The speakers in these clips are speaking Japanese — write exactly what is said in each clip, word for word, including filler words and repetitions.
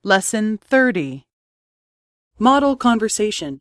Lesson thirty. Model Conversation.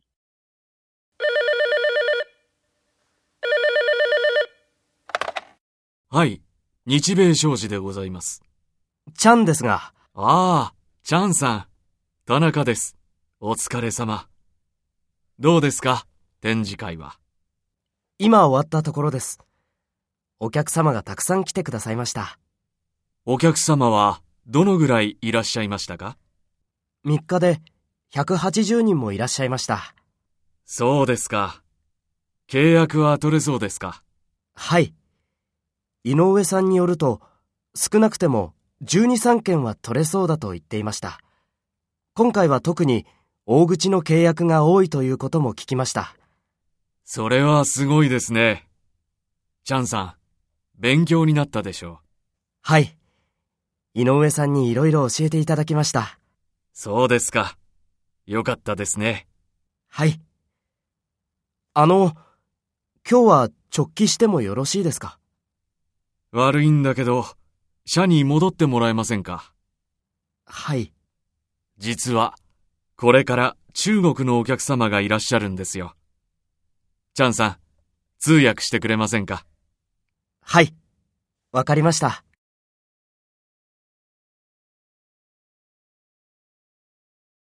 はい、日米商事でございます。 チャンですが。 ああ、チャンさん。田中です。お疲れ様。どうですか、展示会は。 今終わったところです。お客様がたくさん来てくださいました。 お客様はどのぐらいいらっしゃいましたか？ みっかでひゃくはちじゅうにんもいらっしゃいました。 そうですか。契約は取れそうですか？ はい。井上さんによると、少なくてもじゅうに、さんけんは取れそうだと言っていました。今回は特に大口の契約が多いということも聞きました。 それはすごいですね。チャンさん、勉強になったでしょう。 はい。井上さんにいろいろ教えていただきました。 そうですか。よかったですね。 はい。あの、今日は直帰してもよろしいですか？ 悪いんだけど、社に戻ってもらえませんか？ はい。 実は、これから中国のお客様がいらっしゃるんですよ。チャンさん、通訳してくれませんか？ はい。わかりました。